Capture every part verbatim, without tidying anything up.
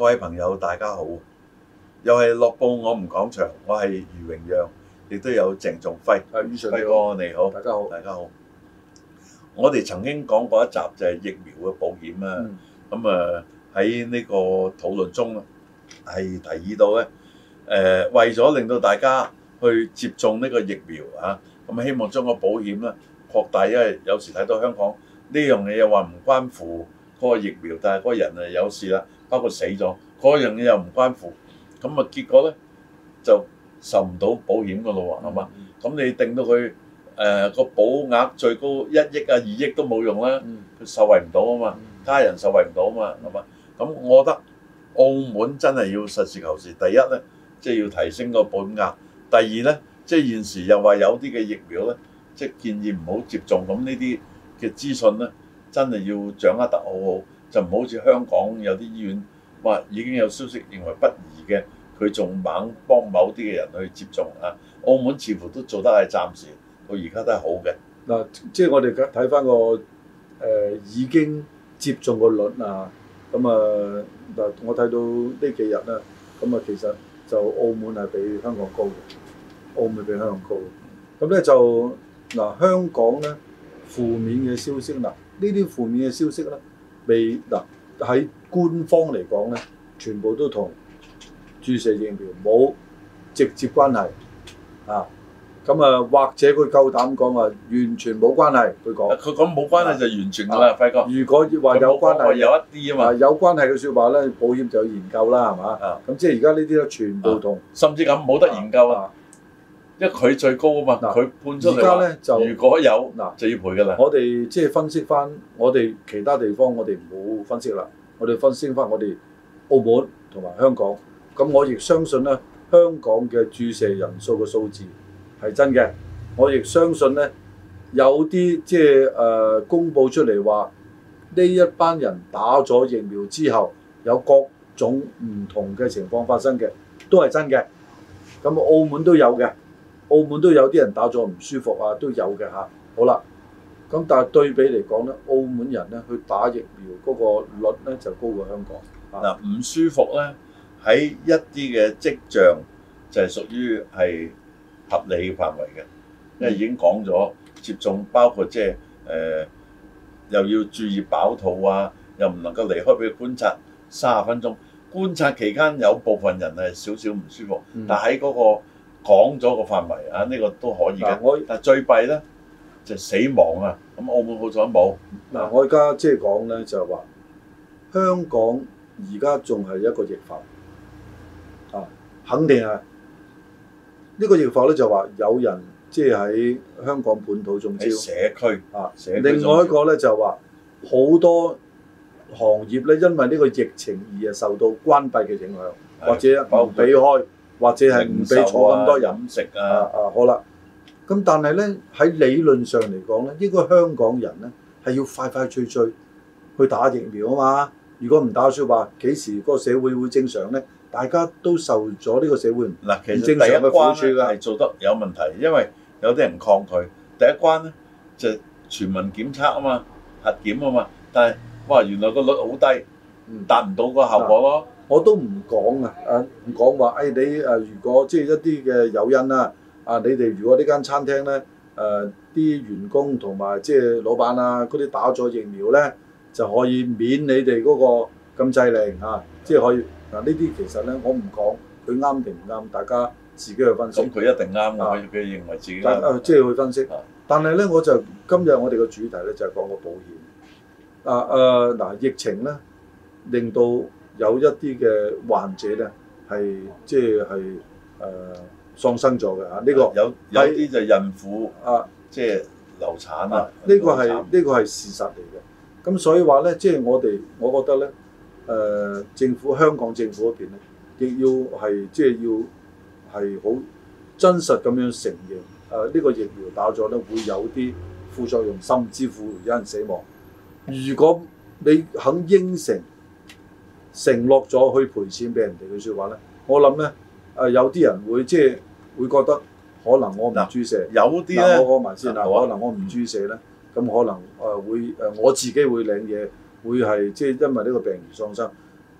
各位朋友，大家好！又係樂報我們講場，我係余榮陽，亦都有鄭仲輝。 係，余 Sir 輝哥你好， 大家好， 大家好。我哋曾經講過一集就係疫苗嘅保險啊。咁啊喺呢個討論中係提議到咧，誒、呃、為咗令到大家去接種呢個疫苗啊，咁希望將個保險咧擴大，因為有時睇到香港呢樣嘢又話唔關乎嗰個疫苗，但係嗰個人啊有事啦，包括死咗，嗰樣嘢又唔關乎，咁啊結果咧就受唔到保險噶咯喎，係嘛？咁你定到佢誒個保額最高一億啊二億都冇用啦，佢受惠唔到啊嘛，家人受惠唔到啊嘛，係嘛？咁我覺得澳門真係要實事求是，第一咧即係要提升個保險額，第二咧即係現時又話有啲嘅疫苗咧，即係建議唔好接種，咁呢啲嘅資訊咧真係要掌握得好好，就唔好似香港有啲醫院話已經有消息認為不宜嘅，佢仲猛幫某啲嘅人去接種啊。澳門似乎都做得係暫時到而家都係好嘅。 嗱，即係我哋睇翻個誒已經接種個率啊，咁啊嗱，我睇到呢幾日啦，咁啊其實就澳門係比香港高嘅，澳門比香港高嘅。咁咧就嗱香港咧負面嘅消息嗱，呢啲負面嘅消息咧未嗱喺官方嚟講咧，全部都同注射疫苗冇直接關係啊。咁啊，或者佢夠膽講話完全冇關係，佢講。佢講冇關係就完全㗎啦，輝哥。如果話有關係，有一啲啊嘛。有關係嘅説話咧，保險就有研究啦，係嘛？啊。咁即係而家呢啲咧，全部同。甚至咁冇得研究啊，因為佢最高啊嘛。嗱，佢判出嚟。而家咧就如果有嗱就要賠㗎啦。我哋即係分析翻，我哋其他地方我哋唔好分析啦，我哋分析翻我哋澳門同埋香港。咁我亦相信咧，香港嘅注射人數嘅數字係真嘅，我亦相信咧有啲即係誒公佈出嚟話呢一班人打咗疫苗之後有各種唔同嘅情況發生嘅，都係真嘅。咁澳門都有嘅，澳門都有啲人打咗唔舒服啊，都有嘅嚇。好啦，咁但係對比嚟講咧，澳門人咧去打疫苗嗰個率咧就高過香港。嗱，唔舒服咧喺一啲嘅跡象就係屬於係合理嘅範圍嘅，因為已經講咗接種包括即係誒又要注意飽肚啊，又唔能夠離開俾佢觀察三十分鐘。觀察期間有部分人係少少唔舒服，嗯、但喺嗰個講咗個範圍啊，呢、呢個都可以嘅。我但最弊咧就係、死亡啊，咁澳門好彩冇。嗱，我而家即係講咧就係話香港而家仲係一個疫發啊，肯定係。呢個疫況咧就話有人即係喺香港本土中招，社區啊，社區另外一個咧就話好多行業咧因為呢個疫情而係受到關閉嘅影響，或者唔俾開，或者係唔俾坐咁多人飲食啊。啊，啊好啦，咁但係咧喺理論上嚟講咧，應該香港人咧係要快快脆脆去打疫苗啊嘛。如果唔打説話，幾時個社會會正常咧？大家都受咗呢個社會嗱，其實第一關咧係做得有問題，因為有啲人抗拒。第一關咧就全民檢測啊嘛，核檢啊嘛，但係哇原來個率好低，達唔到個效果咯。我都唔講啊，啊唔講話誒你誒如果即係一啲嘅誘因啦，啊你哋如果呢間餐廳咧誒啲員工同埋即係老闆啊嗰啲打咗疫苗咧，就可以免你哋嗰個禁制令啊，即係可以。嗱呢啲其實咧，我唔講佢啱定唔啱，大家自己去分析。咁佢一定啱，佢佢認為自己啱。即係去分析。但係咧，我就今日我哋個主題咧就係講個保險。啊誒嗱，疫情咧令到有一啲嘅患者咧係即係係誒喪生咗嘅嚇。呢個有有啲就孕婦啊，即係流產啊。呢個係呢個係事實嚟嘅。咁所以話咧，即係我哋我覺得咧。誒、呃、政府香港政府嗰邊咧，亦要係即係要係好真實咁樣承認，誒、呃、呢、這個疫苗打咗咧會有啲副作用，甚至乎有人死亡。如果你肯應承承諾咗去賠錢俾人哋嘅説話咧，我諗咧誒有啲人會即係會覺得可能我唔注射，有啲咧我講埋先啦，可能我唔注射咧，咁可能誒會誒我自己會領嘢。會係即係因為呢個病而喪生，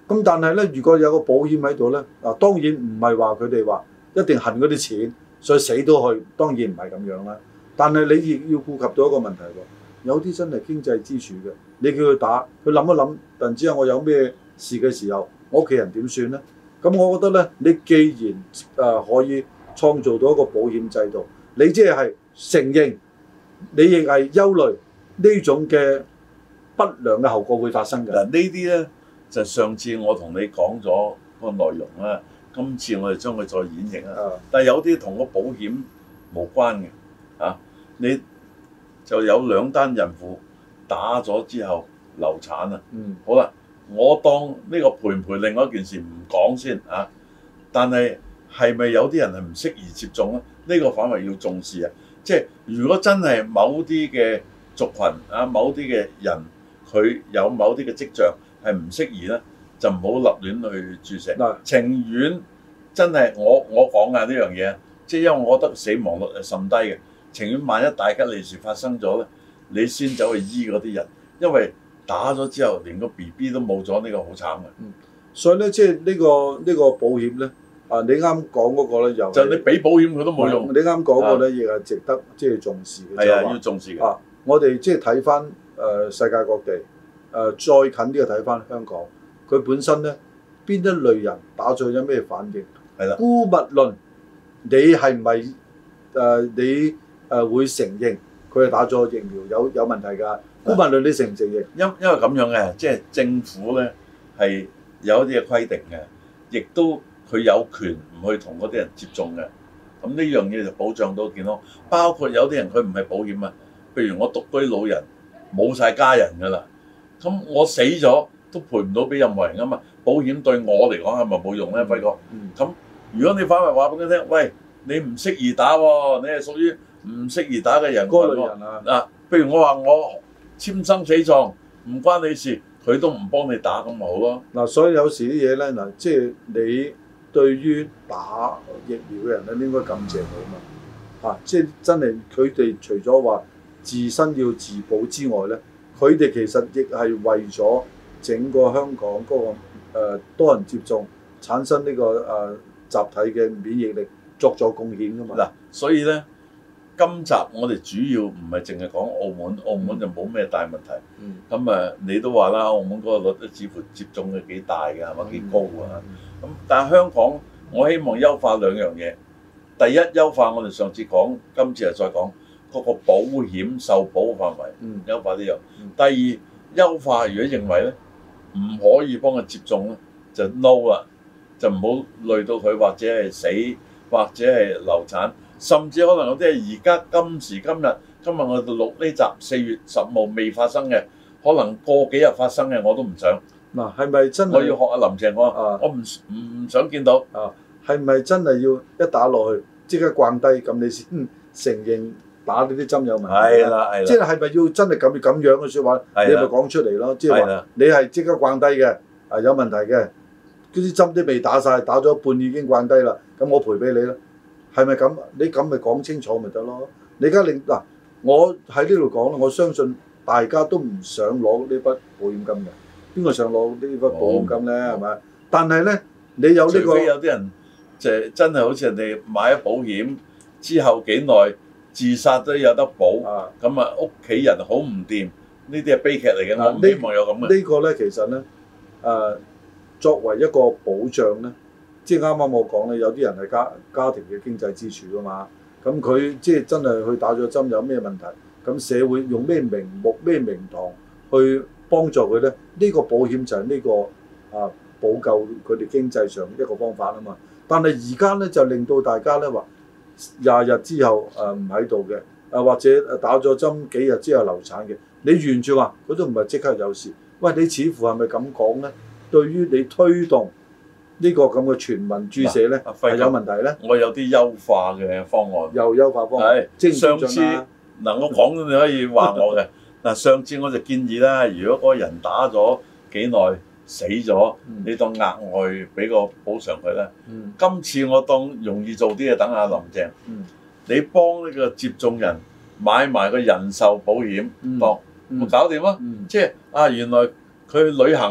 咁但係咧，如果有個保險喺度咧，嗱當然唔係話佢哋話一定恨嗰啲錢，所以死都去，當然唔係咁樣啦。但係你亦要顧及到一個問題喎，有啲真係經濟支柱嘅，你叫佢打，佢諗一諗，突然之間我有咩事嘅時候，我屋企人點算咧？咁我覺得咧，你既然誒、呃、可以創造到一個保險制度，你即係承認，你亦係憂慮呢種嘅不良嘅後果會發生嘅。 嗱呢啲咧就上次我同你講咗個內容啦，今次我哋將佢再演繹啊。但係有啲同個保險無關嘅啊，你就有兩單孕婦打咗之後流產啊。嗯，好啦。我當呢個賠唔賠另外一件事唔講先啊，但係係咪有啲人係唔適宜接種咧？呢、這個反為要重視啊！即係如果真係某啲嘅族群啊，某啲嘅人佢有某啲嘅跡象係唔適宜咧，就唔好立亂去注射。嗱、嗯，情願真係我我講啊呢樣嘢，即係因為我覺得死亡率係甚低嘅，情願萬一大吉利是發生咗咧，你先走去醫嗰啲人，因為打咗之後，連個 B B 都冇咗，呢、這個好慘嘅。嗯，所以咧，即係呢個呢、這個保險咧，啊，你啱講嗰個咧，又就你俾保險佢都冇用。你啱講嗰個咧，亦係值得即係重視嘅。係啊，要重視嘅。啊，我哋即係睇翻誒世界各地，誒、呃、再近啲嘅睇翻香港，佢本身咧邊一類人打咗有咩反應？係啦。姑勿論你係唔係誒你誒、呃、會承認佢係打咗疫苗有有問題㗎？姑勿論你承唔承認？因因為咁樣嘅，即係政府咧係有一啲嘅規定嘅，亦都佢有權唔去同嗰啲人接種嘅。咁呢樣嘢就保障到健康。包括有啲人佢唔係保險啊，譬如我獨居老人冇晒家人㗎啦，咁我死咗都賠唔到俾任何人啊嘛。保險對我嚟講係咪冇用咧，輝哥？咁、嗯、如果你反為話俾佢聽，喂，你唔適宜打喎，你係屬於唔適宜打嘅人嗰類人啊。嗱，譬如我話我簽生死狀唔關你事，佢都唔幫你打咁咪好咯。嗱，所以有時啲嘢咧，嗱，即係你對於打疫苗嘅人咧，應該感謝佢啊嘛。嚇、啊，即係真係佢哋除咗話自身要自保之外咧，佢哋其實亦係為咗整個香港嗰、那個、呃、多人接種，產生呢、這個誒、呃、集體嘅免疫力作咗貢獻噶嘛。嗱，所以咧。今集我哋主要唔係淨係講澳門，澳門就冇咩大問題。咁啊、嗯，你都話啦，澳門嗰個率似乎接種嘅幾大嘅，係咪幾高啊？咁、嗯、但係香港，我希望優化兩樣嘢。第一，優化我哋上次講，今次又再講嗰、那個保險受保嘅範圍，嗯、優化呢樣。嗯、第二，優化如果認為咧唔可以幫佢接種咧，就 no 啦，就唔好累到佢或者係死，或者係流產。甚至可能有啲係而家今時今日，今日我哋錄呢集四月十號未發生嘅，可能過幾日發生嘅我都唔想。嗱，係咪真係？我要學阿林鄭我，啊、我唔唔想見到。啊，係咪真係要一打落去即刻掛低咁你先承認打呢啲針有問題？係啦係啦。即係係咪要真係咁咁樣嘅説話？的你咪講出嚟咯。即係話你係即刻掛低嘅，啊有問題嘅，嗰啲針都未打晒，打咗一半已經掛低啦，咁我賠俾你啦。係咪咁？你咁咪講清楚咪得咯？你而家令嗱，我喺呢度講啦，我相信大家都唔想攞呢筆保險金嘅。邊個想攞呢筆保險金咧？係咪、哦？但係咧，你有呢、這個，除非有啲人就真係好似人哋買咗保險之後幾耐自殺都有得保，咁啊屋企人好唔掂，呢啲係悲劇嚟嘅。啊、我唔希望有咁嘅。這個、呢個咧其實咧，誒、呃、作為一個保障咧。即係啱啱我講咧，有啲人係家家庭嘅經濟支柱啊嘛，咁佢即係真係去打咗針有咩問題？咁社會用咩名目、咩名堂去幫助佢咧？呢、呢個保險就係呢、呢個啊補救佢哋經濟上一個方法啊嘛。但係而家咧就令到大家咧話廿日之後誒唔喺度嘅，啊或者打咗針幾日之後流產嘅，你完全話佢都唔係即刻有事。喂，你似乎係咪咁講咧？對於你推動呢個咁嘅全民注射咧係有問題咧？我有啲優化嘅方案，又優化方案。係上次嗱，我講你可以話我嘅嗱。上次我就建議啦，如果嗰個人打咗幾耐死咗，你當額外俾個補償佢啦。今次我當容易做啲嘅，等下林鄭，你幫呢個接種人買埋個人壽保險，當咪搞掂咯。即係啊，原來佢旅行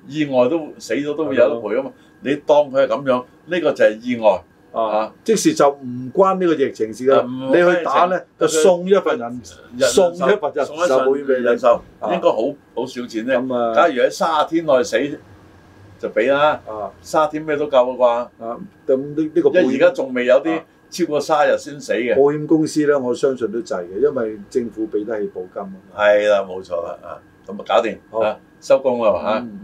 意外都死咗都會有得賠啊嘛。你當佢係咁樣，呢個就係意外啊！ 即時就唔關呢個疫情事㗎。你去打咧就送一份人，送一份人壽保險俾你。人壽應該好好少錢咧。假如喺卅天內死就俾啦。卅天咩都夠啦啩？啊，咁呢呢個因為而家仲未有啲超過卅日先死嘅。保險公司咧，我相信都滯嘅，因為政府俾得起保金。係啦，冇錯啦啊！咁啊搞掂啊，收工啦嚇。